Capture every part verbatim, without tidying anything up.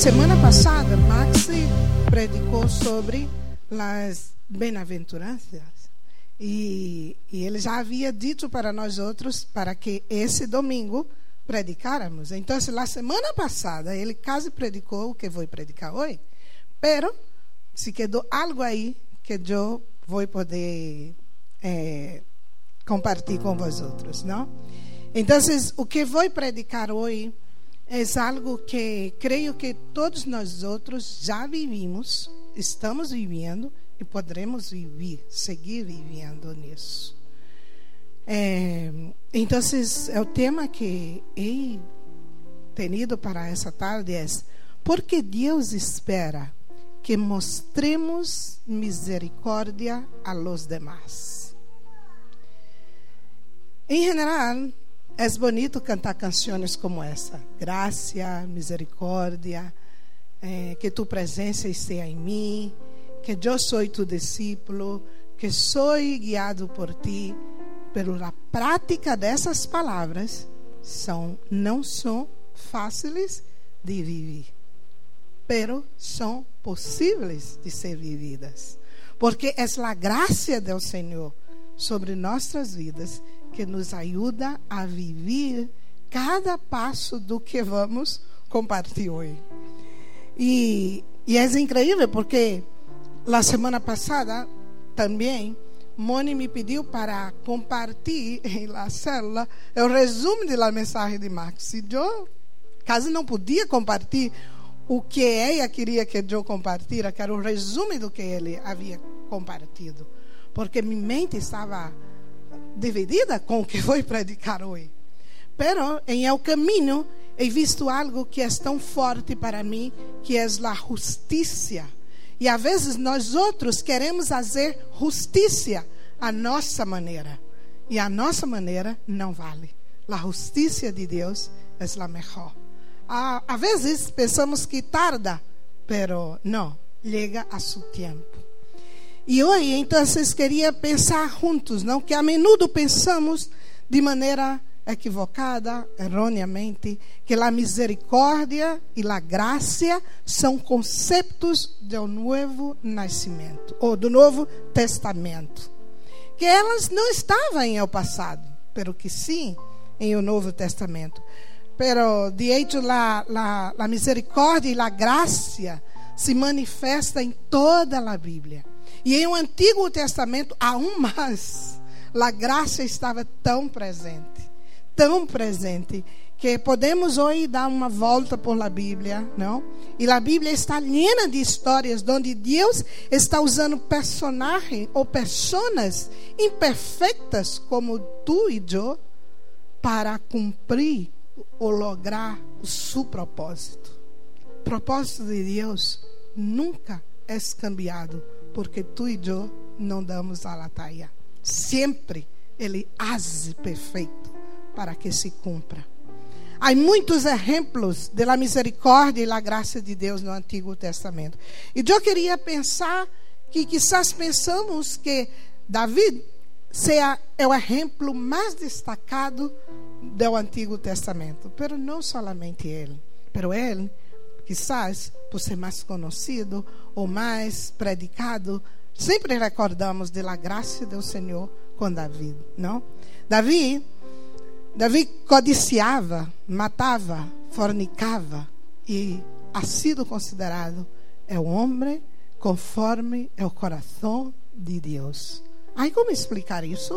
semana passada, Maxi predicou sobre as bem-aventuranças. E, e ele já havia dito para nós outros para que esse domingo predicáramos. Então, na semana passada, ele quase predicou o que vou predicar hoje. Pero, se quedou algo aí que eu vou poder é, compartilhar com vosotros, não? Então, o que vou predicar hoje é algo que creio que todos nós outros já vivimos, estamos vivendo e poderemos viver, seguir vivendo nisso. É, então, o tema que he tenido para essa tarde é: por que Deus espera que mostremos misericórdia a los demás? Em geral, é bonito cantar canções como essa: graça, misericórdia, eh, que tu presença esteja em mim, que eu sou tu discípulo, que sou guiado por ti. Pero a prática dessas palavras são, não são fáceis de viver, pero são possíveis de ser vividas, porque é a graça do Senhor sobre nossas vidas que nos ajuda a viver cada passo do que vamos compartilhar hoje. E, e é incrível porque na semana passada também Moni me pediu para compartilhar na célula o resumo da mensagem de Max. E eu quase não podia compartilhar o que ela queria que eu compartilhasse, que era o resumo do que ele havia compartilhado, porque minha mente estava dividida com o que vou predicar hoje. Pero em el caminho he visto algo que é tão forte para mim, que é a justiça. E às vezes nós outros queremos fazer justiça à nossa maneira, e a nossa maneira não vale. A justiça de Deus é a melhor. Às vezes pensamos que tarda, pero não, chega a seu tempo. E hoje, então, queria pensar juntos, não? Que a menudo pensamos de maneira equivocada, erroneamente, que a misericórdia e a graça são conceitos do novo nascimento, ou do Novo Testamento, que elas não estavam em el passado, pero que sim em o Novo Testamento. Pero de hecho la, la, la misericórdia e a graça se manifesta em toda a Bíblia. E em o Antigo Testamento, aún mais, a graça estava tão presente, tão presente, que podemos hoje dar uma volta por la Bíblia, não? E a Bíblia está llena de histórias onde Deus está usando personagens ou pessoas imperfeitas como tu e eu para cumprir ou lograr o seu propósito. O propósito de Deus nunca é cambiado porque tu e eu não damos a la talla. Sempre Ele hace perfeito para que se cumpra. Há muitos exemplos da misericórdia e da graça de Deus no Antigo Testamento. E eu queria pensar que quizás pensamos que Davi seja o exemplo mais destacado do Antigo Testamento. Pero não somente ele. Pero ele, quizás, por ser mais conhecido ou mais predicado, sempre recordamos da graça do Senhor com Davi, não? Davi, Davi codiciava, matava, fornicava e ha sido considerado é o homem conforme o coração de Deus. Há como explicar isso?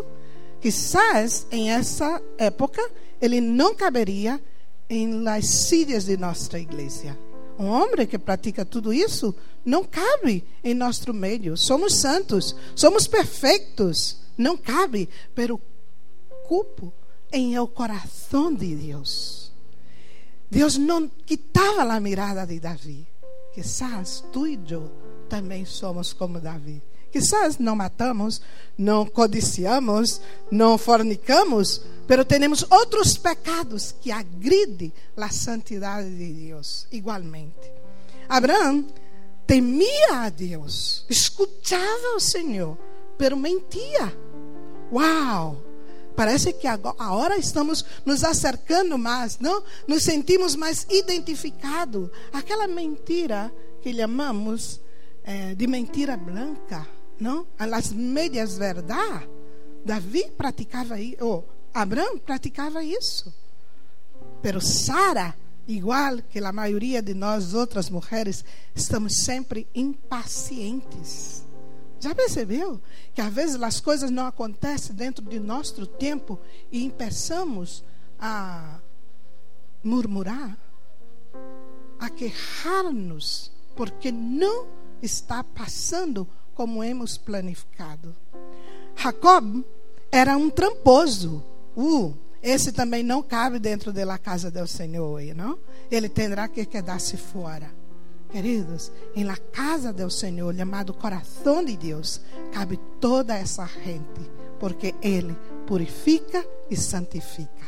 Quizás em essa época ele não caberia em las silhas de nossa igreja. Um homem que pratica tudo isso não cabe em nosso meio. Somos santos, somos perfeitos, não cabe, pero cupo em el coração de Deus. Deus não quitava a mirada de Davi. Quizás tu e eu também somos como Davi. Quizás não matamos, não codiciamos, não fornicamos, pero temos outros pecados que agridem a santidade de Deus igualmente. Abraão temia a Deus, escutava o Senhor, pero mentia. Uau! Parece que agora, agora estamos nos acercando mais, não? Nos sentimos mais identificados. Aquela mentira que chamamos eh, de mentira branca, não? As meias verdades. Davi praticava isso, ou Abraão praticava isso. Pero Sara, igual que a maioria de nós outras mulheres, estamos sempre impacientes. Já percebeu que às vezes as coisas não acontecem dentro de nosso tempo e começamos a murmurar, a queixar-nos, porque não está passando como hemos planificado. Jacob era um tramposo. Uh, esse também não cabe dentro da casa do Senhor, não? Ele terá que quedar-se fora. Queridos, em la casa do Senhor, chamado coração de Deus, cabe toda essa gente, porque Ele purifica e santifica.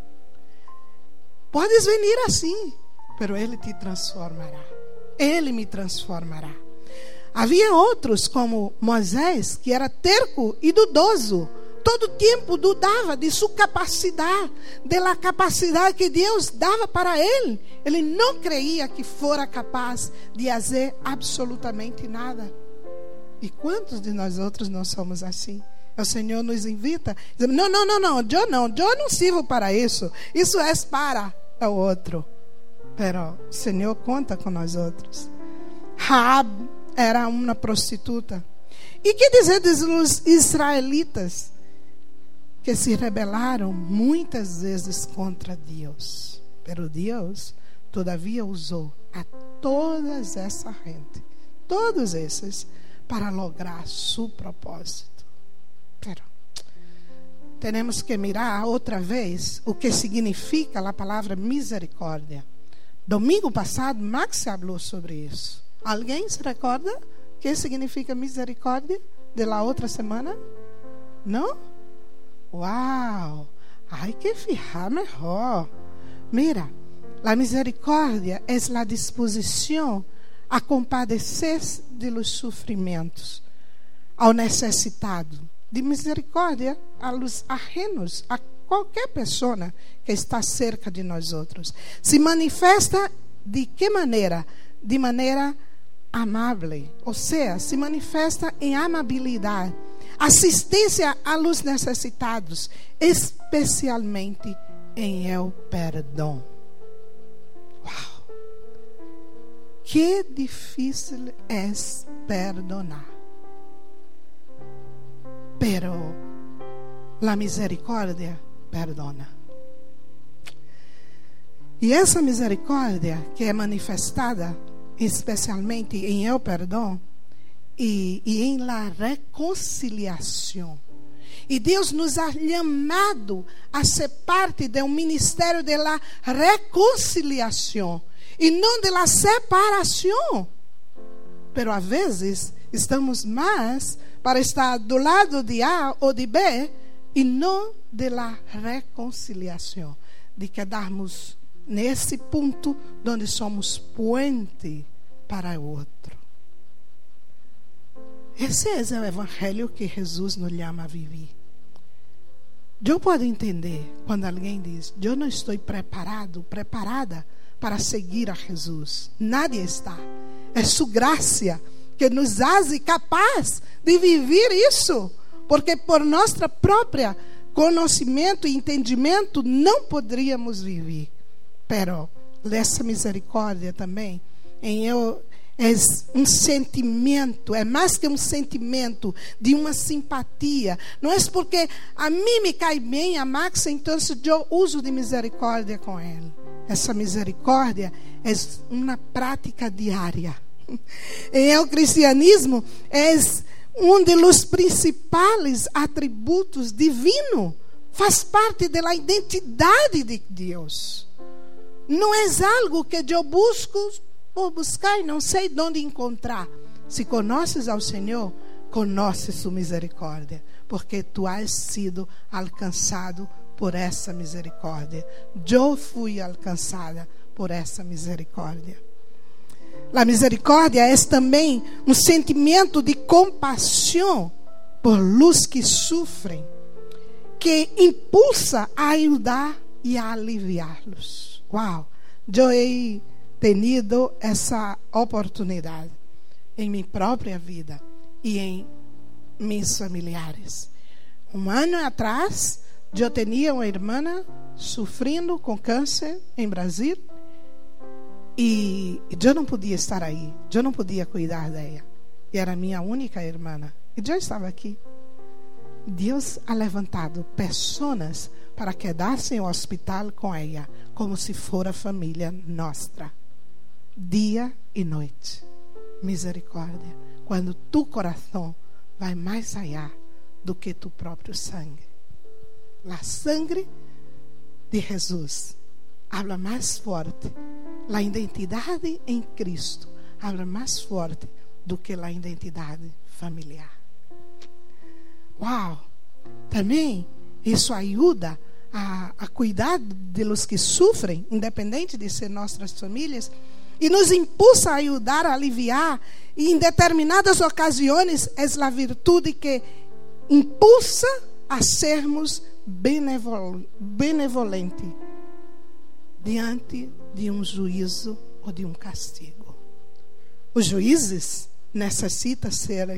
Podes vir assim, pero Ele te transformará. Ele me transformará. Havia outros, como Moisés, que era terco e dudoso. Todo tempo dudava de sua capacidade, da capacidade que Deus dava para ele. Ele não creia que fora capaz de fazer absolutamente nada. E quantos de nós outros não somos assim? O Senhor nos invita, dizendo, não, não, não, não, eu não, eu não sirvo para isso. Isso é para o outro. Pero o Senhor conta com nós outros. Raab era uma prostituta. E que dizer dos israelitas que se rebelaram muitas vezes contra Deus? Pero Deus todavia usou a toda essa gente, todos esses, para lograr seu propósito. Pero temos que mirar outra vez o que significa a palavra misericórdia. Domingo passado, Max falou sobre isso. Alguém se recorda o que significa misericórdia de la outra semana? Não? Uau! Hay que fijar mejor. Mira, la misericórdia é a disposição a compadecer de los sofrimentos ao necessitado. De misericórdia a los ajenos, a qualquer pessoa que está cerca de nós outros. Se manifesta de que maneira? De maneira amável, ou seja, se manifesta em amabilidade. Assistência a los necessitados, especialmente em el perdão. Uau! Que difícil é perdonar. Pero la misericórdia perdona. E essa misericórdia que é manifestada especialmente em el perdão e, e em la reconciliação. E Deus nos ha chamado a ser parte do ministério de la reconciliação e não de la separação. Pero a vezes estamos mais para estar do lado de A ou de B e não de la reconciliação, de quedarmos nesse ponto onde somos puente para o outro. Esse é o evangelho que Jesus nos chama a viver. Eu posso entender quando alguém diz, eu não estou preparado, preparada para seguir a Jesus. Nadie está. É sua graça que nos hace capaz de viver isso, porque por nossa própria conhecimento e entendimento não poderíamos viver. Pero essa misericórdia também em eu é um sentimento, é mais que um sentimento de uma simpatia. Não é porque a mim me cai bem a Max, então eu uso de misericórdia com ele. Essa misericórdia é uma prática diária. Em o cristianismo é um dos principais atributos divinos. Faz parte da identidade de Deus. Não é algo que eu busco por buscar e não sei onde encontrar. Se conheces ao Senhor, conheces sua misericórdia, porque tu has sido alcançado por essa misericórdia. Eu fui alcançada por essa misericórdia. A misericórdia é também um sentimento de compaixão por los que sofrem, que impulsa a ayudar y a aliviarlos. Wow, yo he tenido essa oportunidade em minha própria vida e em mis familiares. Um ano atrás, eu tinha uma irmã sofrendo com câncer em Brasil e eu não podia estar aí, eu não podia cuidar dela. E era minha única irmã e eu estava aqui. Deus ha levantado pessoas para quedar-se no hospital com ela, como se fora família nossa, dia e noite. Misericórdia, quando tu coração vai mais allá do que tu próprio sangue. A sangre de Jesus habla mais forte. A identidade em Cristo habla mais forte do que a identidade familiar. Uau! Também isso ajuda a, a cuidar de los que sofrem, independente de ser nossas famílias, e nos impulsa a ajudar a aliviar. E em determinadas ocasiões é a virtude que impulsa a sermos benevol, benevolentes diante de um juízo ou de um castigo. Os juízes necessitam ser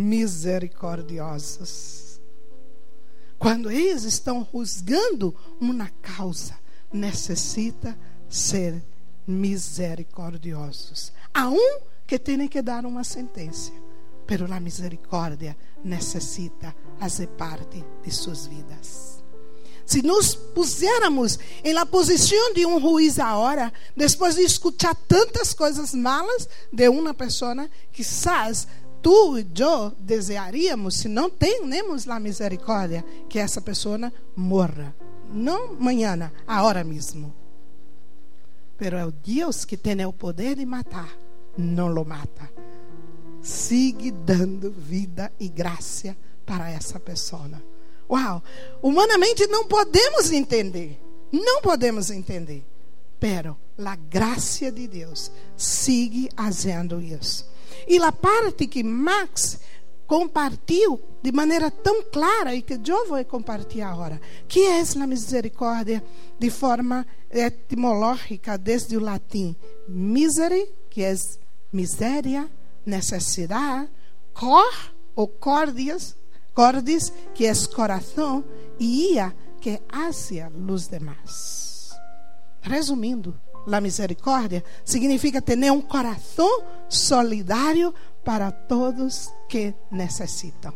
misericordiosos. Quando eles estão juzgando uma causa, necessita ser misericordiosos. Há um que tem que dar uma sentença, pero a misericórdia necessita fazer parte de suas vidas. Se nos pusiéramos em la posição de um juiz agora, depois de escutar tantas coisas malas de uma pessoa, quizás tu e eu desejaríamos, se não temos a misericórdia, que essa pessoa morra. Não amanhã, agora mesmo. Pero é o Deus que tem o poder de matar, não lo mata. Sigue dando vida e graça para essa pessoa. Uau! Humanamente não podemos entender. Não podemos entender. Pero a graça de Deus sigue fazendo isso. E a parte que Max compartilhou de maneira tão clara e que eu vou compartilhar agora, que é a misericórdia de forma etimológica desde o latim misere, que é miséria, necessidade, cor ou cordias, cordis, que é coração, e ia, que é hacia os demais. Resumindo, a misericórdia significa ter um coração solidário para todos que necessitam.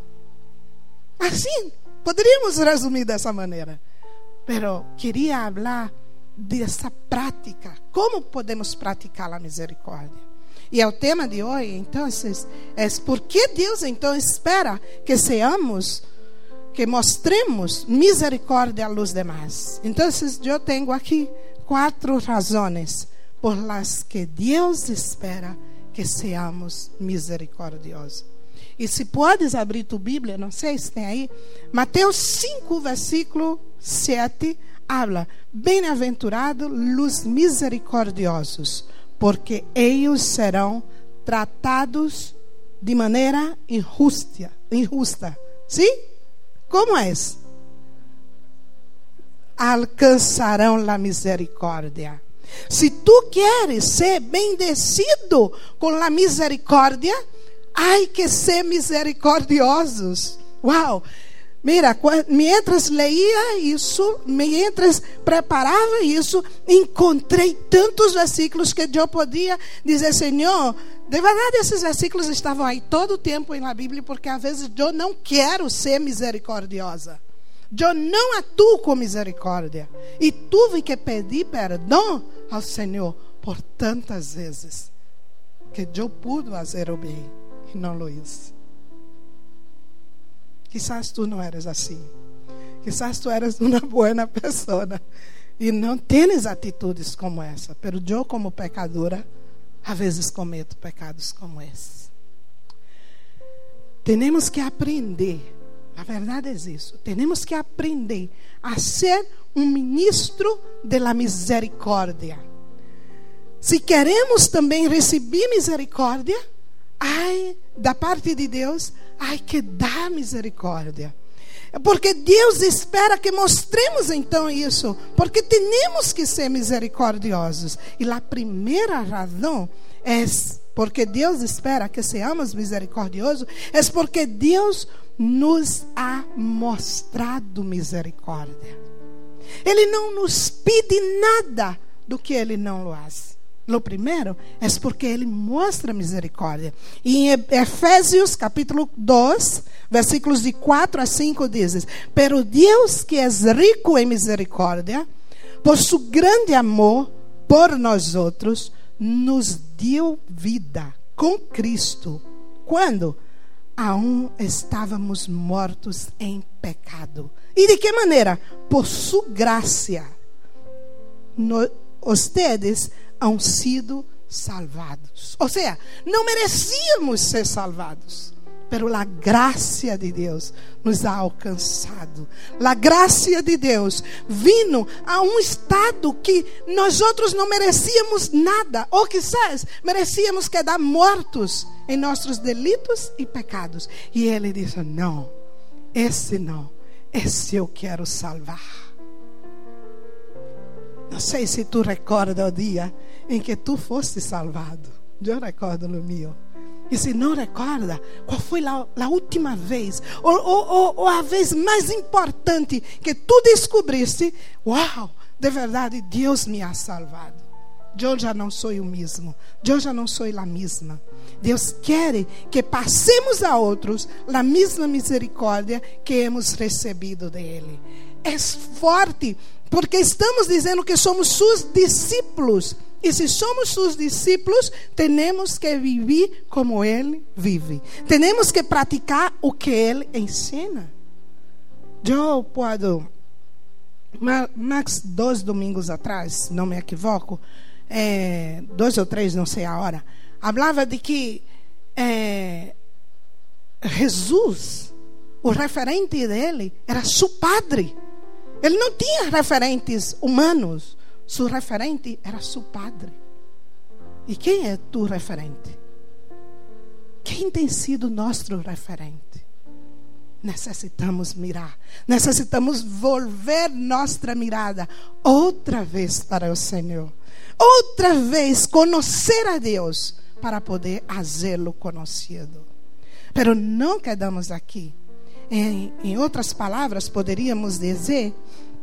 Assim, poderíamos resumir dessa maneira. Pero queria falar dessa prática. Como podemos praticar a misericórdia? E é o tema de hoje, então, é por que Deus então espera que seamos, que mostremos misericórdia aos demais. Então, eu tenho aqui quatro razões por las que Deus espera que seamos misericordiosos. E se podes abrir tu Bíblia, não sei se tem aí, Mateus cinco, versículo sete, habla: bem-aventurados os misericordiosos, porque eles serão tratados de maneira injusta. injusta. Sim? Como é? Alcançarão a misericórdia. Se tu queres ser bendecido com a misericórdia, há que ser misericordiosos. Uau! Mira, mientras leía isso, mientras preparava isso, encontrei tantos versículos que eu podia dizer: Senhor, de verdade esses versículos estavam aí todo o tempo na Bíblia, porque às vezes eu não quero ser misericordiosa. Eu não atuo com misericórdia. E tive que pedir perdão ao Senhor por tantas vezes que eu pude fazer o bem e não lo hice. Quizás tu não eres assim. Quizás tu eres uma boa pessoa e não tens atitudes como essa. Pero eu, como pecadora, às vezes cometo pecados como esse. Temos que aprender. A verdade é isso. Temos que aprender a ser um ministro da misericórdia. Se queremos também receber misericórdia, ai, da parte de Deus, há que dar misericórdia. Porque Deus espera que mostremos então isso. Porque temos que ser misericordiosos. E a primeira razão é porque Deus espera que seamos misericordiosos. É porque Deus nos ha mostrado misericórdia. Ele não nos pede nada do que Ele não lo faz. O primeiro é porque Ele mostra misericórdia. E em Efésios capítulo dois, versículos de quatro a cinco diz: Pero Deus que é rico em misericórdia, por su grande amor por nós outros, nos deu vida com Cristo, quando aún estávamos mortos em pecado. E de que maneira? Por su graça, no, ustedes han sido salvados. Ou seja, não merecíamos ser salvados, pero a graça de Deus nos ha alcançado. A graça de Deus vino a um estado que nós outros não merecíamos nada, ou quizás merecíamos quedar mortos em nossos delitos e pecados. E Ele disse: não, esse não, esse eu quero salvar. Não sei se tu recorda o dia em que tu foste salvado. Eu recordo o meu. E se não recorda, qual foi a, a última vez, ou, ou, ou, ou a vez mais importante que tu descobriste: uau, de verdade Deus me ha salvado. Eu já não sou o mesmo, eu já não sou a mesma. Deus quer que passemos a outros a mesma misericórdia que hemos recebido dele. É forte, porque estamos dizendo que somos seus discípulos. E se somos seus discípulos, temos que viver como Ele vive. Temos que praticar o que Ele ensina. Eu posso, mais dois domingos atrás, não me equivoco, é, dois ou três, não sei a hora, falava de que é, Jesus, o referente dele, era seu padre. Ele não tinha referentes humanos. Seu referente era seu padre. E quem é tu referente? Quem tem sido nosso referente? Necessitamos mirar. Necessitamos volver nossa mirada outra vez para o Senhor. Outra vez conhecer a Deus para poder fazê-lo conhecido. Pero não quedamos aqui. Em, em outras palavras, poderíamos dizer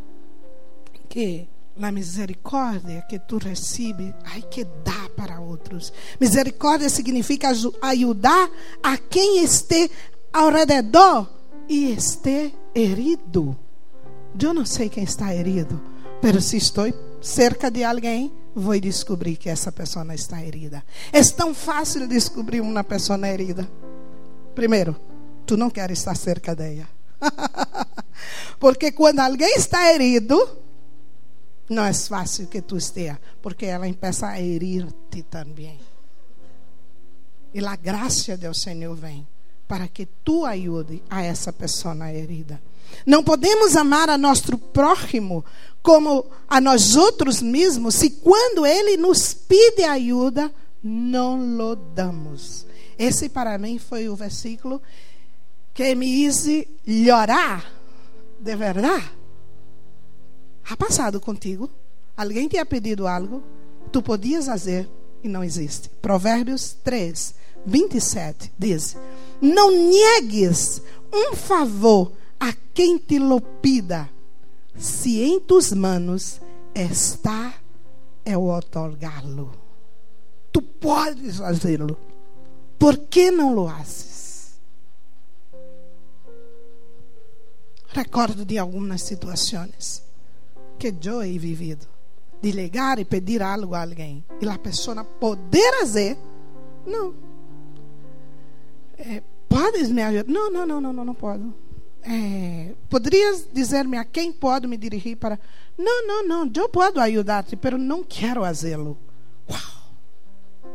que a misericórdia que tu recebes, hay que dar para outros. Misericórdia significa ajudar a quem esteja ao redor e esteja herido. Eu não sei quem está herido, mas se estou cerca de alguém, vou descobrir que essa pessoa está herida. É tão fácil descobrir uma pessoa herida. Primeiro, tu não queres estar cerca dela. Porque quando alguém está herido, não é fácil que tu esteja, porque ela começa a herir-te também. E a graça do Senhor vem para que tu ajude a essa pessoa herida. Não podemos amar a nosso próximo como a nós outros mesmos, se quando ele nos pede ajuda, não lo damos. Esse para mim foi o versículo que me hizo chorar de verdade. Ha passado contigo? Alguém te ha pedido algo? Tu podias fazer e não existe. Provérbios três, vinte e sete diz: não niegues um favor a quem te lo pida, se em tus manos está el otorgá-lo. Tu podes fazê-lo. Por que não lo haces? Recordo de algumas situações que eu he vivido, de ligar e pedir algo a alguém e a pessoa poder fazer, não. É, podes me ajudar? Não, não, não, não, não, não posso. É, poderias dizer-me a quem pode me dirigir para? Não, não, não, eu posso ajudar-te, mas não quero fazê-lo. Uau!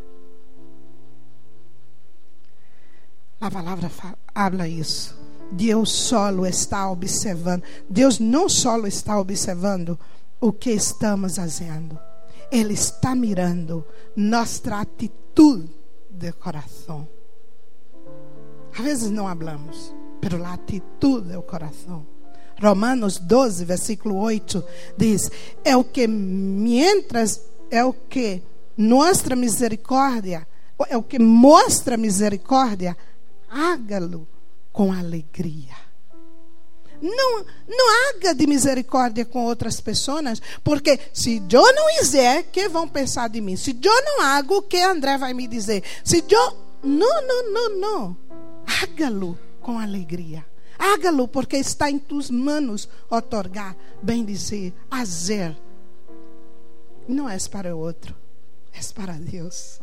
A palavra fala isso. Deus solo está observando. Deus não solo está observando o que estamos fazendo. Ele está mirando nossa atitude de coração. Às vezes não falamos, pero a atitude do coração. Romanos doze, versículo oito, diz: é o que mientras, é o que nossa misericórdia, é o que mostra misericórdia, hágalo com alegria. Não, não haga de misericórdia com outras pessoas, porque se eu não fizer, o que vão pensar de mim? Se eu não hago, o que André vai me dizer? Se eu... Não, não, não, não. Hágalo com alegria. Hágalo porque está em tus manos otorgar, bem dizer, fazer. Não é para o outro, é para Deus.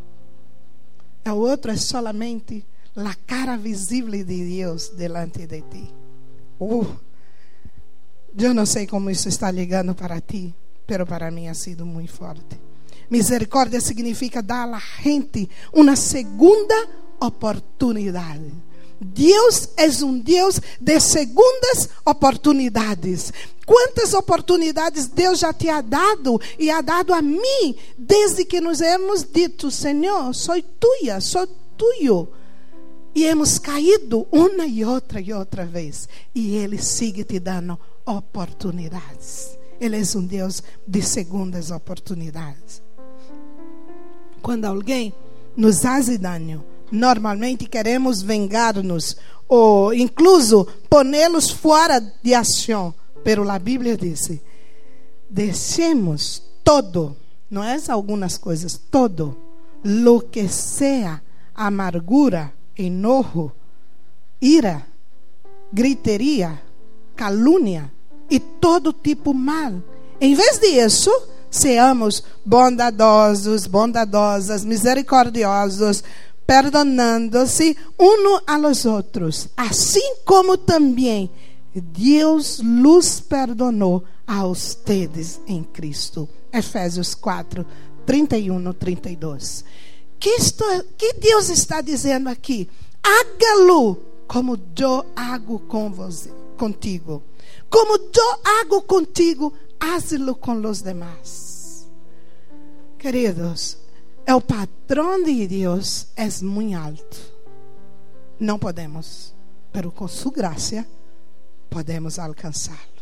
O outro é solamente a cara visível de Deus delante de ti. Uh, eu não sei como isso está ligando para ti, pero para mim ha sido muito forte. Misericórdia significa dar à gente uma segunda oportunidade. Deus é um Deus de segundas oportunidades. Quantas oportunidades Deus já te ha dado e ha dado a mim, desde que nos hemos dito: Senhor, sou tuya, sou tuyo. E hemos caído uma e outra e outra vez. E Ele sigue te dando oportunidades. Ele é um Deus de segundas oportunidades. Quando alguém nos faz dano, normalmente queremos vengar-nos, ou incluso pô-los fora de ação. Pero a Bíblia diz: deixemos todo, não é algumas coisas, todo, lo que sea amargura, enojo, ira, griteria, calúnia e todo tipo mal. Em vez disso, seamos bondadosos, bondadosas, misericordiosos, perdonando-se uns a los outros, assim como também Deus los perdonou a ustedes em Cristo. Efésios quatro, trinta e um, trinta e dois. Que, estou, que Deus está dizendo aqui? Hágalo como eu hago com você, contigo. Como eu hago contigo, hazlo com os demais. Queridos, o padrão de Deus é muito alto. Não podemos, mas com sua graça podemos alcançá-lo.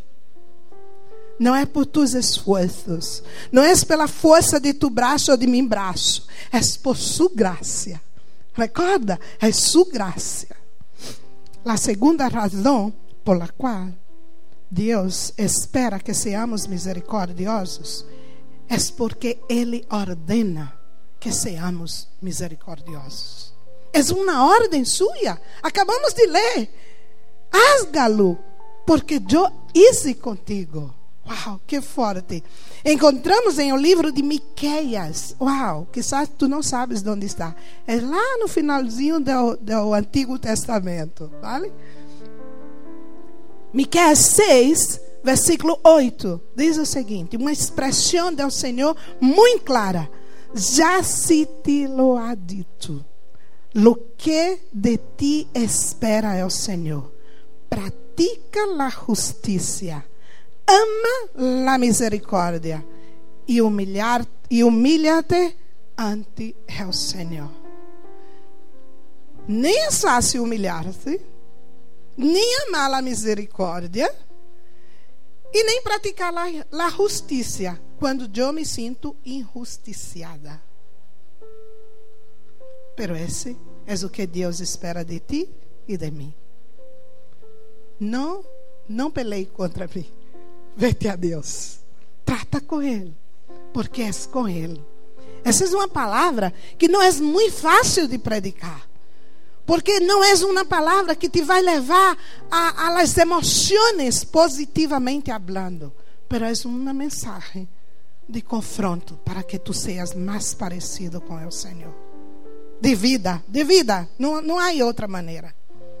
Não é por tus esforços, não é pela força de tu braço ou de meu braço, é por sua graça. Recorda, é sua graça. A segunda razão por la qual Deus espera que seamos misericordiosos é porque Ele ordena que seamos misericordiosos. É uma ordem sua. Acabamos de ler. Hágalo, porque eu hice contigo. Uau, que forte. Encontramos em o livro de Miqueias. Uau, quizás tu não sabes onde está. É lá no finalzinho do, do Antigo Testamento, vale? Miqueias seis, versículo oito, diz o seguinte, uma expressão do Senhor muito clara. Já se te lo ha dito, lo que de ti espera o Senhor. Pratica la justicia, ama la misericórdia e humilhar e humilha-te ante o Senhor. Nem é fácil humilhar-se, nem amar a misericórdia e nem praticar a, a justiça quando eu me sinto injusticiada. Pero esse é o que Deus espera de ti e de mim. Não, não peleie contra mim. Vete a Deus. Trata com Ele, porque és com Ele. Essa é uma palavra que não é muito fácil de predicar. Porque não é uma palavra que te vai levar a, a las emoções positivamente hablando. Pero é uma mensagem de confronto para que tu seas mais parecido com o Senhor. De vida, de vida. Não, não há outra maneira.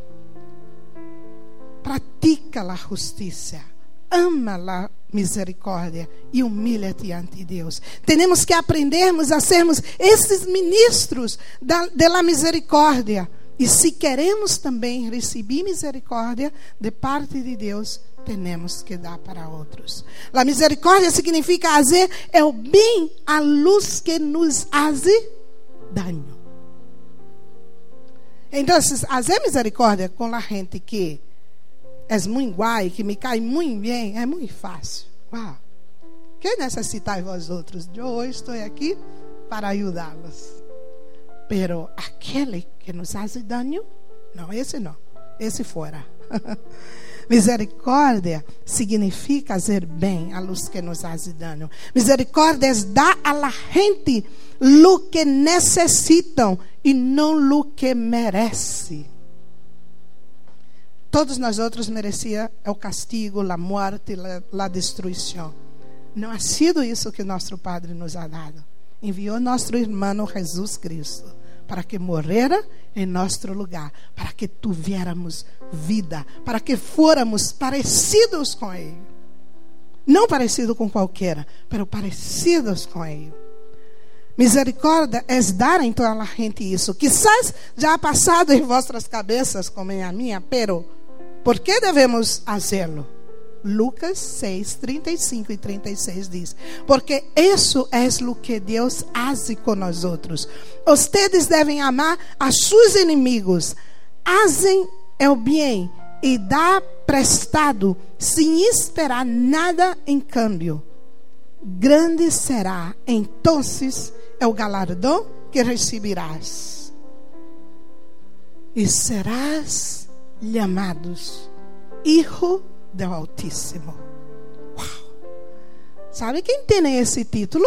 Pratica a justiça. Ama a misericórdia e humilha-te ante Deus. Temos que aprendermos a sermos esses ministros da, da misericórdia. E se queremos também receber misericórdia de parte de Deus, temos que dar para outros. A misericórdia significa fazer o bem à luz que nos hace dano. Então, fazer misericórdia com a gente que é muito guai, que me cai muito bem, é muito fácil. Uau! Que necessitai vós outros? Eu hoje estou aqui para ajudá-los. Pero aquele que nos faz dano, não, esse não, esse fora. Misericórdia significa fazer bem a los que nos fazem dano. Misericórdia é dar a la gente lo que necessitam e não lo que merece. Todos nós outros merecia o castigo, a morte, a destruição. Não ha sido isso que nosso Padre nos ha dado. Enviou nosso irmão Jesus Cristo para que morrera em nosso lugar, para que tuviéramos vida, para que fôramos parecidos com Ele. Não parecido com qualquer, mas parecidos com Ele. Misericórdia é dar então a la gente isso. Quizás já ha passado em vossas cabeças, como em a minha, pero por que devemos fazê-lo? Lucas seis, trinta e cinco e trinta e seis diz: porque isso é o que Deus faz com nós outros. Ustedes devem amar a seus inimigos, fazem o bem e dá prestado, sem esperar nada em câmbio. Grande será então o galardão que receberás, e serás chamados Hijo do Altíssimo. Uau. Sabe quem tem esse título?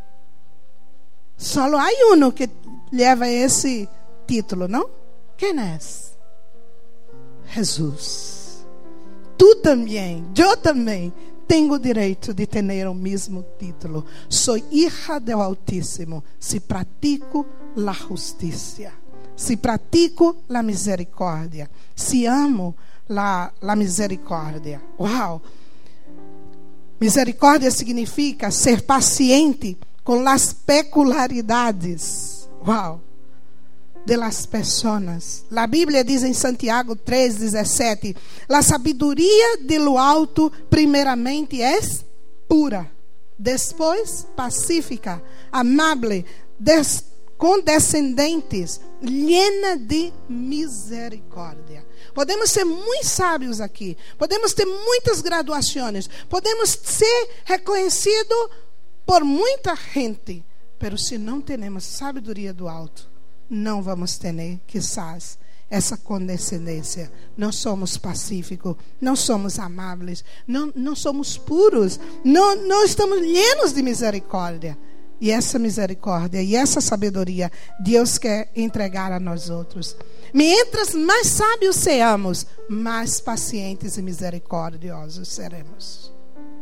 Só há um que leva esse título, não? Quem é? Jesus. Tu também, eu também tenho o direito de ter o mesmo título. Sou hija do Altíssimo se pratico a justiça, se pratico a misericórdia, se amo La, la misericórdia. Uau! Misericórdia significa ser paciente com as peculiaridades. Uau! De las pessoas. A Bíblia diz em Santiago três, dezessete: a sabedoria de lo alto, primeiramente, é pura, depois pacífica, amável, des, condescendentes, llena de misericórdia. Podemos ser muito sábios aqui, podemos ter muitas graduações, podemos ser reconhecidos por muita gente, mas se não temos sabedoria do alto, não vamos ter, quizás, essa condescendência. Não somos pacíficos, não somos amáveis, não, não somos puros, não, não estamos llenos de misericórdia. E essa misericórdia e essa sabedoria Deus quer entregar a nós outros. Mientras mais sábios sejamos, mais pacientes e misericordiosos seremos.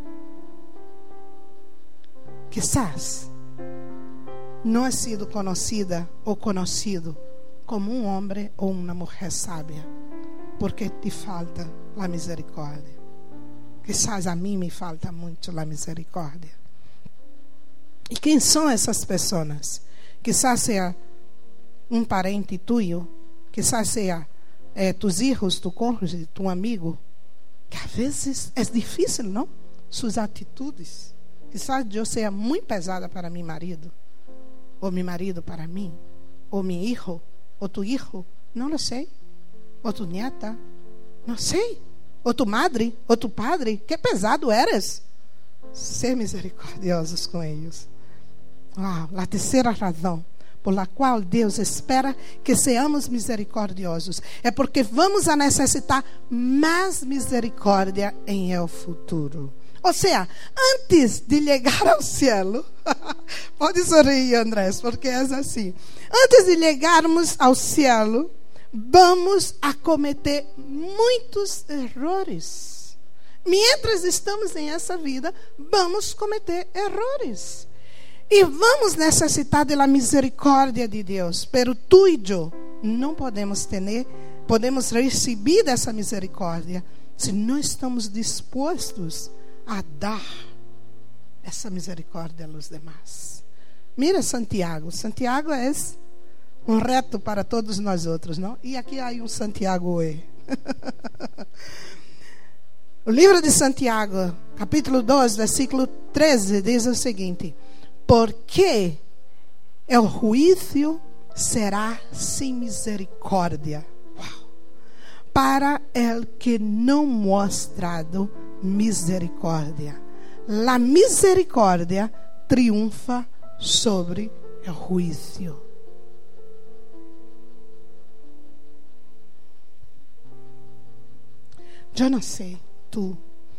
Quizás não é sido conhecida ou conhecido como um homem ou uma mulher sábia, porque te falta a misericórdia. Quizás a mim me falta muito a misericórdia. E quem são essas pessoas? Quizás seja um parente tuyo, quizás seja eh, tus filhos, tu cônjuge, tu amigo, que às vezes é difícil, não? Suas atitudes. Quizás eu seja muito pesada para meu marido, ou meu marido para mim, ou meu filho, ou tu filho, não lo sei, ou tu nieta, não sei, ou tu madre, ou tu padre, que pesado eres. Ser misericordiosos com eles. Uau, a terceira razão por la qual Deus espera que sejamos misericordiosos é porque vamos a necessitar mais misericórdia em el futuro. Ou seja, antes de chegar ao cielo, pode sorrir, Andrés, porque é assim. Antes de chegarmos ao cielo, vamos a cometer muitos erros. Mientras estamos em essa vida, vamos cometer erros. E vamos necessitar da misericórdia de Deus. Pero tu e eu não podemos ter, podemos receber dessa misericórdia se não estamos dispostos a dar essa misericórdia aos demais. Mira Santiago. Santiago é um reto para todos nós outros, não? E aqui há um Santiago hoje. O livro de Santiago, capítulo dois, versículo treze, diz o seguinte: porque o juízo será sem misericórdia. Uau. Para el que não mostrado misericórdia. La misericórdia triunfa sobre o juízo. Eu não sei tu,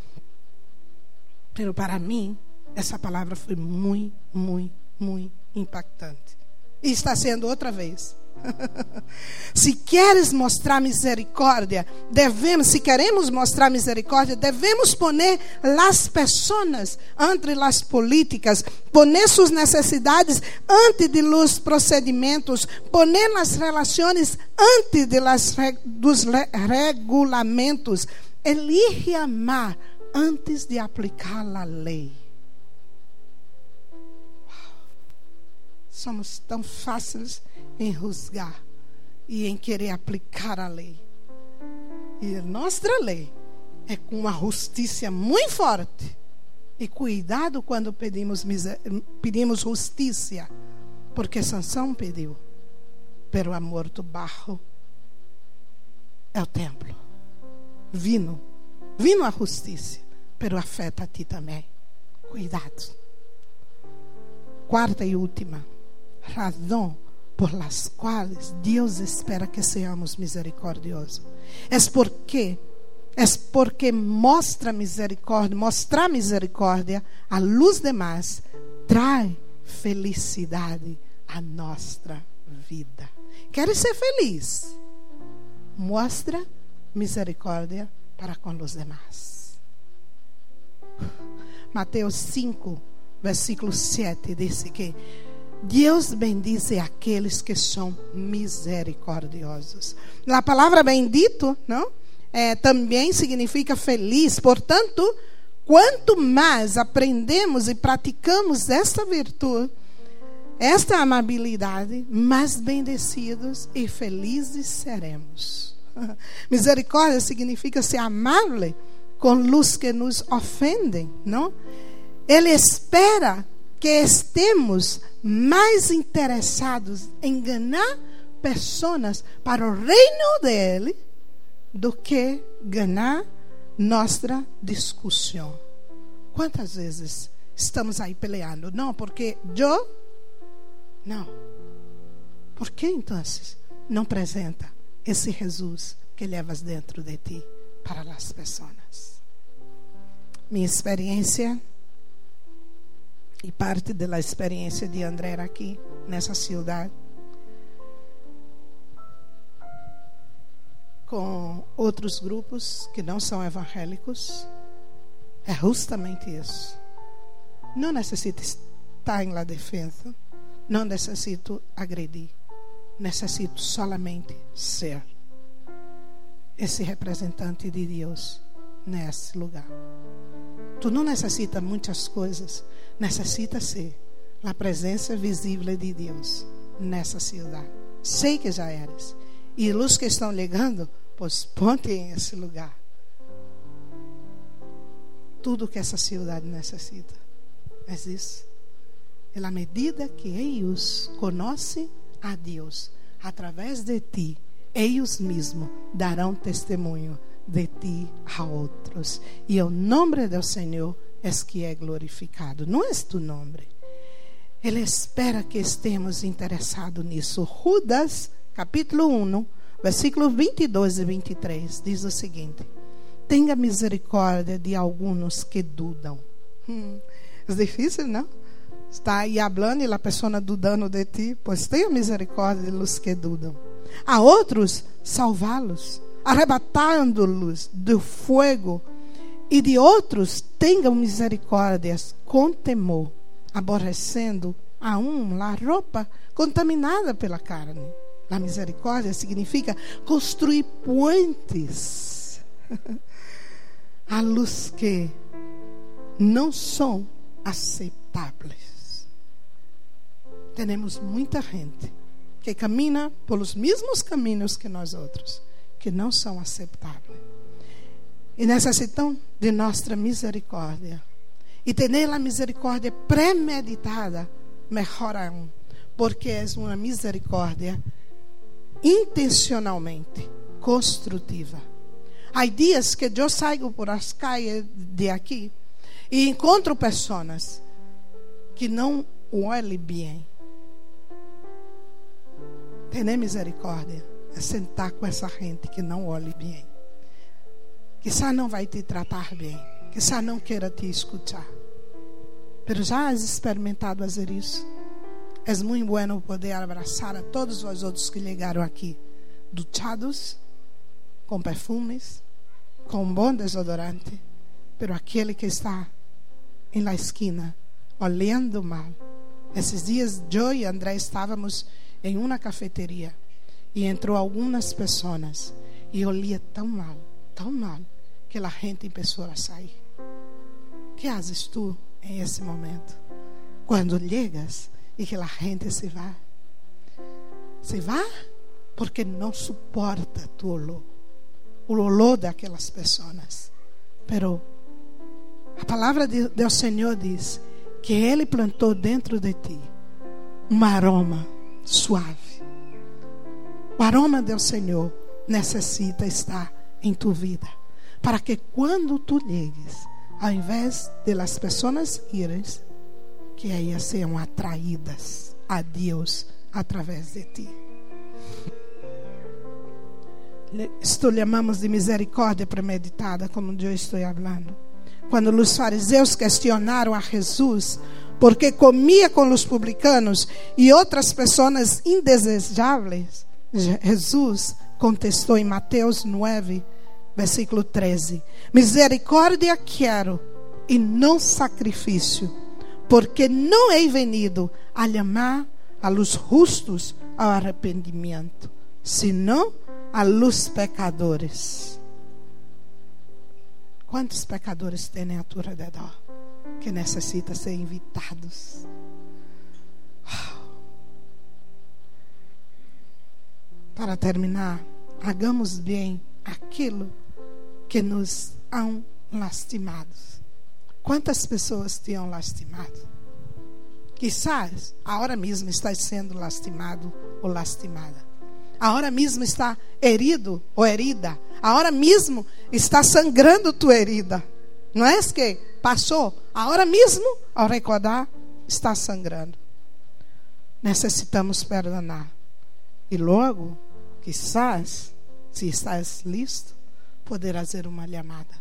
mas para mim essa palavra foi muito, muito, muito impactante. E está sendo outra vez. Se queres mostrar misericórdia, devemos, se queremos mostrar misericórdia, devemos poner as pessoas ante as políticas, poner suas necessidades ante de los procedimentos, poner as relações ante de las, dos regulamentos. Elige amar antes de aplicar a lei. Somos tão fáceis em juzgar e em querer aplicar a lei. E a nossa lei é com uma justiça muito forte. E cuidado quando pedimos, pedimos justiça, porque Sansão pediu, pero a morto barro é o templo. Vino, vino a justiça, pero afeta a ti também. Cuidado. Quarta e última razão por las quais Deus espera que seamos misericordiosos. É porque, é porque mostra misericórdia, mostrar misericórdia a luz demais traz felicidade à nossa vida. Queres ser feliz? Mostra misericórdia para com os demais. Mateus cinco, versículo sete diz que Deus bendice aqueles que são misericordiosos. A palavra bendito, não? É, também significa feliz. Portanto, quanto mais aprendemos e praticamos esta virtude, esta amabilidade, mais bendecidos e felizes seremos. Misericórdia significa ser amável com os que nos ofendem, não? Ele espera que estemos mais interessados em ganhar pessoas para o reino dele do que ganhar nossa discussão. Quantas vezes estamos aí peleando? Não, porque eu... Não. Por que então não apresenta esse Jesus que levas dentro de ti para as pessoas? Minha experiência e parte da experiência de André aqui nessa cidade, com outros grupos que não são evangélicos, é justamente isso. Não necessito estar em la defesa, não necessito agredir, necessito solamente ser esse representante de Deus nesse lugar. Tu não necessita muitas coisas, necessita ser a presença visível de Deus nessa cidade. Sei que já eres. E os que estão ligando, pois ponte em esse lugar. Tudo que essa cidade necessita é isso. E à medida que eles conhecem a Deus através de ti, eles mesmos darão testemunho de ti a outros. E o nome do Senhor é que é glorificado. Não é tu nome. Ele espera que estemos interessados nisso. Judas, capítulo um, versículos vinte e dois e vinte e três, diz o seguinte: tenha misericórdia de alguns que dudam. Hum, é difícil, não? Está aí falando e a pessoa dudando de ti. Pois tenha misericórdia de los que dudam. A outros, salvá-los, arrebatando-los do fogo. E de outros, tenham misericórdia com temor, aborrecendo a um a roupa contaminada pela carne. A misericórdia significa construir pontes a luz que não são aceitáveis. Temos muita gente que caminha pelos mesmos caminhos que nós outros, que não são aceitáveis. E necessitam de nossa misericórdia. E ter a misericórdia premeditada, melhor ainda. porque é uma misericórdia intencionalmente construtiva. Há dias que eu saio por as calles de aqui e encontro pessoas que não olhem bem. Ter misericórdia é sentar com essa gente que não olhe bem. Quizá não vai te tratar bem. Quizá não queira te escutar. Mas já has experimentado fazer isso? É muito bueno poder abraçar a todos os outros que chegaram aqui, duchados, com perfumes, com um bom desodorante, pero aquele que está em la esquina, olhando mal. Esses dias, eu e André estávamos em uma cafeteria e entrou algumas pessoas e olhia tão mal, tão mal, que a gente começou a sair. O que fazes tu em esse momento? Quando chegas e que a gente se vá, se vá porque não suporta tu olor, o olor daquelas pessoas. Pero a palavra de, do Senhor diz que Ele plantou dentro de ti um aroma suave. O aroma do Senhor necessita estar em tu vida, para que quando tu llegues, ao invés de las pessoas irem, que elas sejam atraídas a Deus através de ti. Isto chamamos de misericórdia premeditada, como eu estou falando. Quando os fariseus questionaram a Jesus porque comia com os publicanos e outras pessoas indesejáveis, Jesus contestou em Mateus nove, versículo treze: misericórdia quero e não sacrifício, porque não he venido a chamar a los justos ao arrependimento, senão a los pecadores. Quantos pecadores tem a tu redor que necessitam ser invitados? Para terminar, hagamos bem aquilo que nos han lastimado. Quantas pessoas te han lastimado? Quizás agora mesmo estás sendo lastimado ou lastimada. Agora mesmo está herido ou herida. Agora mesmo está sangrando tua herida. Não é que passou? Agora mesmo, ao recordar, está sangrando. Necessitamos perdonar. E logo, quizás, se estás listo, poder fazer uma chamada.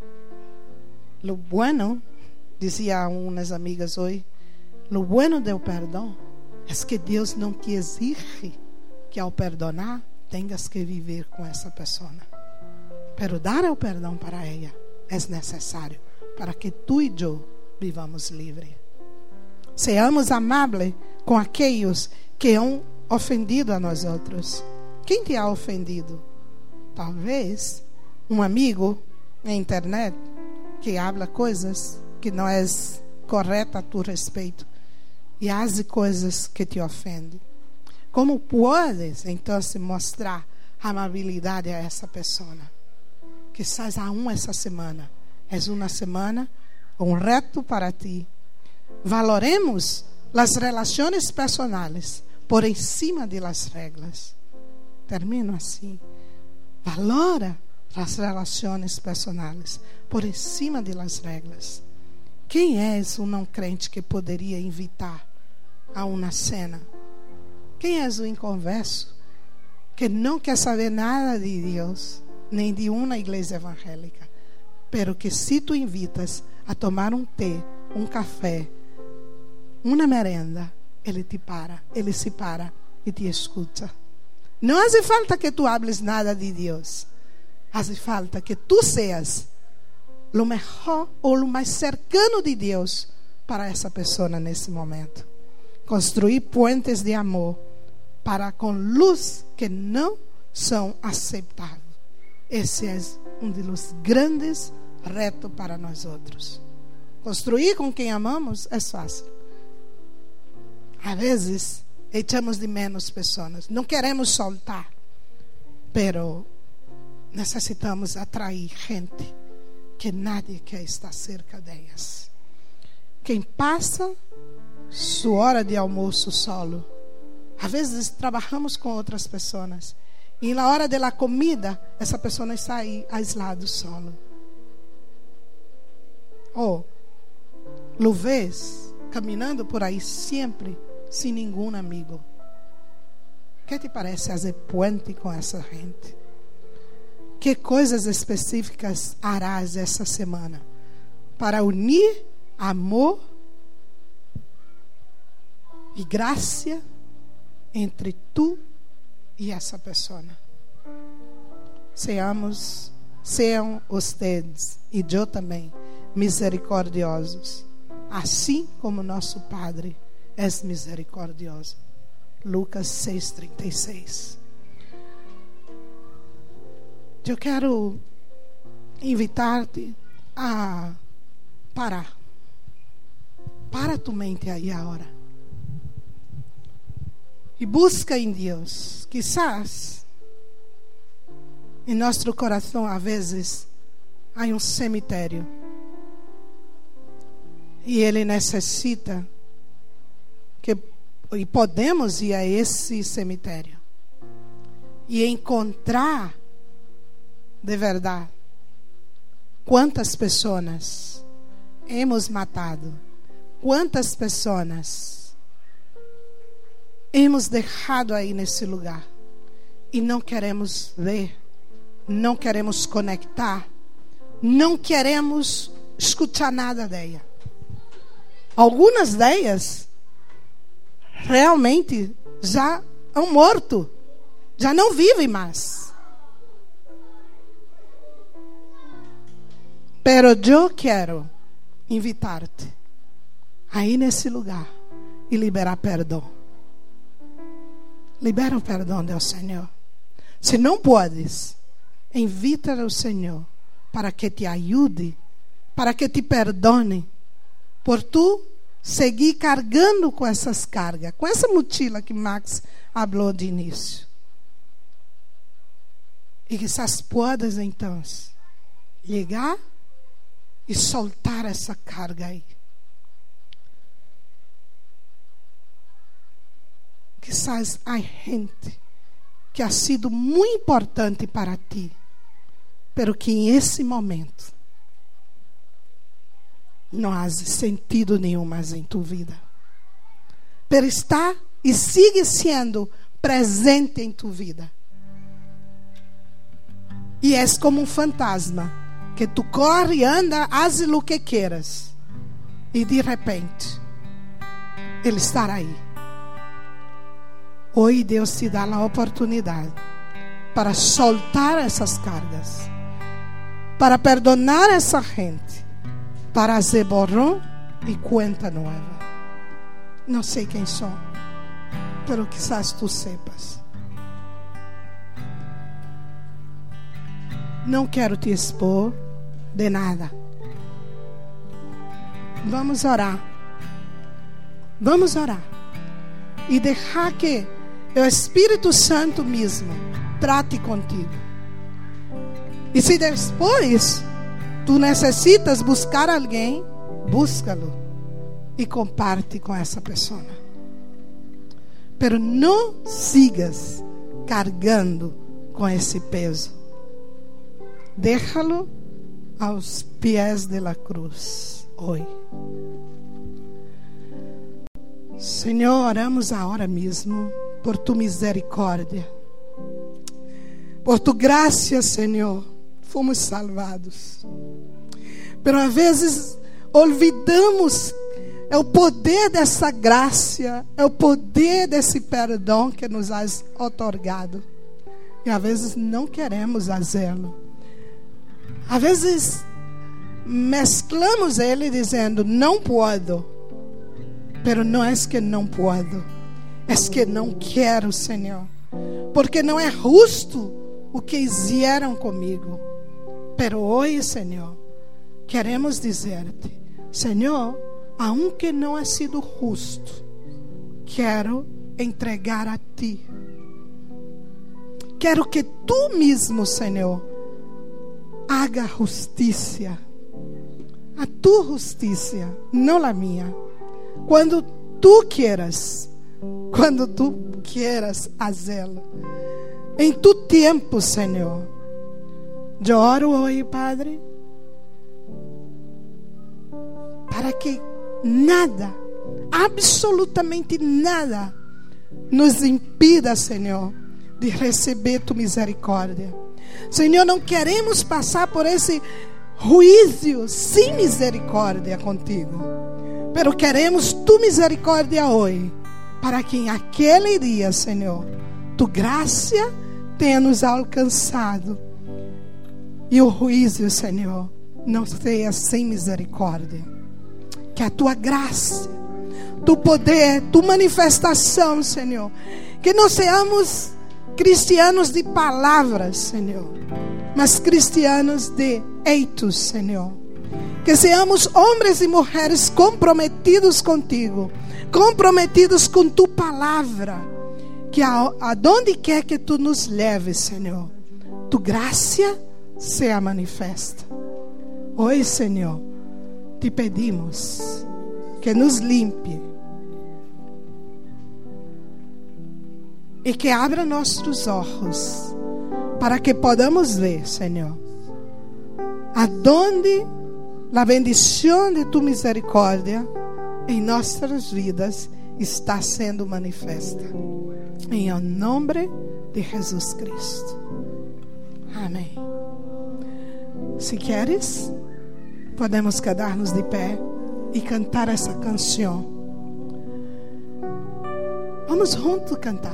Lo bueno, dizia umas amigas hoje, lo bueno do perdão é que Deus não te exige que ao perdonar tenhas que viver com essa pessoa. Pero dar o perdão para ela é necessário para que tu e eu vivamos livres. Seamos amáveis com aqueles que han ofendido a nós outros. Quem te ha ofendido? Talvez um amigo na internet que habla coisas que não é correta a tu respeito e faz coisas que te ofendem. Como podes então se mostrar amabilidade a essa pessoa? Quizás aún essa semana é uma semana, um reto para ti. Valoremos as relações personais por encima de las regras. Termino assim. Valora as relações personais por encima de las regras. Quem é um não crente que poderia invitar a uma cena? Quem é o inconverso que não quer saber nada de Deus, nem de uma igreja evangélica, pero que se tu invitas a tomar um té, um café, uma merenda, ele te para, ele se para e te escuta. Não hace falta que tu hables nada de Deus, hace falta que tu seas o melhor ou o mais cercano de Deus para essa pessoa nesse momento. Construir puentes de amor para com luz que não são aceitáveis. Esse é um dos grandes retos para nós outros. Construir com quem amamos é fácil. Às vezes, echamos de menos pessoas. Não queremos soltar. Pero necessitamos atrair gente que nadie quer estar cerca delas. Quem passa sua hora de almoço solo Às vezes trabalhamos com outras pessoas e na hora da comida essa pessoa está aí aislado, solo. Ou lo vês caminhando por aí sempre sem nenhum amigo. Que te parece fazer puente com essa gente? Que coisas específicas harás essa semana para unir amor e graça entre tu e essa pessoa? Seamos, sejam vocês e eu também misericordiosos, assim como nosso Padre é misericordioso. Lucas seis, trinta e seis. Eu quero invitar-te a parar. Para tu mente aí agora. E busca em Deus. Quizás em nosso coração, às vezes, há um cemitério. E Ele necessita que, e podemos ir a esse cemitério e encontrar de verdade quantas pessoas hemos matado, quantas pessoas hemos deixado aí nesse lugar e não queremos ver, não queremos conectar, não queremos escutar nada dela. Algumas delas realmente já estão mortos, já não vivem mais. Pero eu quero invitar-te a ir nesse lugar e liberar perdão. Libera o perdão do Senhor. Se não podes, invita o Senhor para que te ajude, para que te perdone, por tu seguir carregando com essas cargas, com essa mochila que Max falou de início. E quizás podes então ligar e soltar essa carga aí. Quizás há gente que ha sido muito importante para ti, pero que em esse momento não há sentido nenhum mais em tua vida. Pero está e sigue sendo presente em tua vida. E és como um fantasma que tu corre, anda, faz o que queiras e de repente ele estará aí. Hoje Deus te dá a oportunidade para soltar essas cargas, para perdonar essa gente, para fazer borrão e conta nova. Não sei quem sou, pero quizás tu sepas. Não quero te expor de nada. Vamos orar. Vamos orar. E deixar que o Espírito Santo mesmo trate contigo. E se depois tu necessitas buscar alguém, búscalo e comparte com essa pessoa. Pero não sigas carregando com esse peso. Déjalo aos pés da cruz hoje. Senhor, oramos agora mesmo por tu misericórdia, por tu graça, Senhor. Fomos salvados, pero às vezes olvidamos é o poder dessa graça, é o poder desse perdão que nos has otorgado, e às vezes não queremos fazê-lo. Às vezes mesclamos ele dizendo não posso, pero não é que não posso, é que não quero, Senhor, porque não é justo o que fizeram comigo. Pero hoje, Senhor, queremos dizer-te, Senhor, aunque não ha sido justo, quero entregar a ti. Quero que tu mesmo, Senhor, haga justiça, a tu justiça, não a minha. Quando tu quieras quando tu quieras fazê-lo. Em tu tempo, Senhor. Eu oro hoje, Padre, para que nada, absolutamente nada, nos impida, Senhor, de receber tu misericórdia. Senhor, não queremos passar por esse juízo sem misericórdia contigo, pero queremos tu misericórdia hoje, para que em aquele dia, Senhor, tu graça tenha nos alcançado e o juízo, Senhor, não seja sem misericórdia. Que a tua graça, tu poder, tu manifestação, Senhor, que não seamos cristianos de palavras, Senhor, mas cristianos de heitos, Senhor. Que seamos homens e mulheres comprometidos contigo, comprometidos com tu palavra, que a, aonde quer que tu nos leves, Senhor, tu graça seja manifesta. Hoje, Senhor, te pedimos que nos limpe e que abra nossos olhos para que podamos ver, Senhor, aonde a bendição de tu misericórdia em nossas vidas está sendo manifesta. Em nome de Jesus Cristo. Amém. Se queres, podemos quedar-nos de pé e cantar essa canção. Vamos juntos cantar.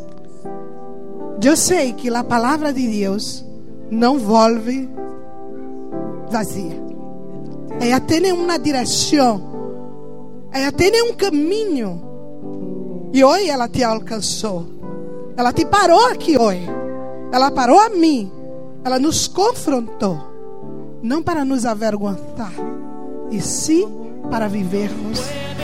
Eu sei que a palavra de Deus não volve vazia. Ela tem uma direção. Ela tem um caminho. E hoje ela te alcançou. Ela te parou aqui hoje. Ela parou a mim. Ela nos confrontou. Não para nos avergonçar, e sim para vivermos.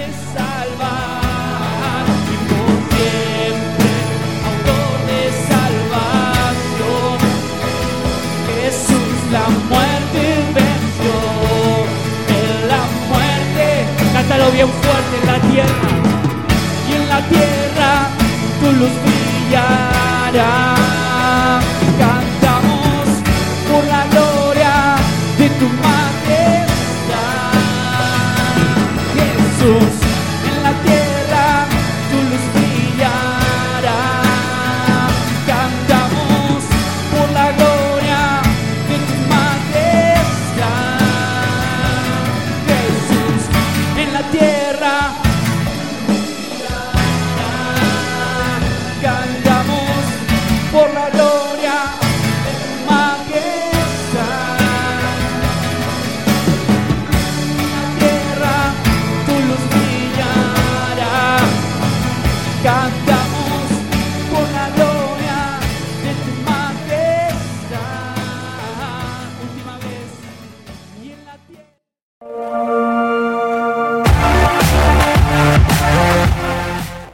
La muerte venció, en la muerte, cántalo bien fuerte en la tierra, y en la tierra tu luz brillará. Cantamos por la gloria de tu majestad, Jesús.